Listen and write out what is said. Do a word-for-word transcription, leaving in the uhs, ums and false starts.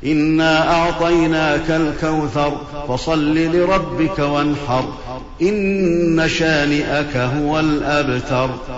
إنا أعطيناك الكوثر فصل لربك وانحر إن شانئك هو الأبتر.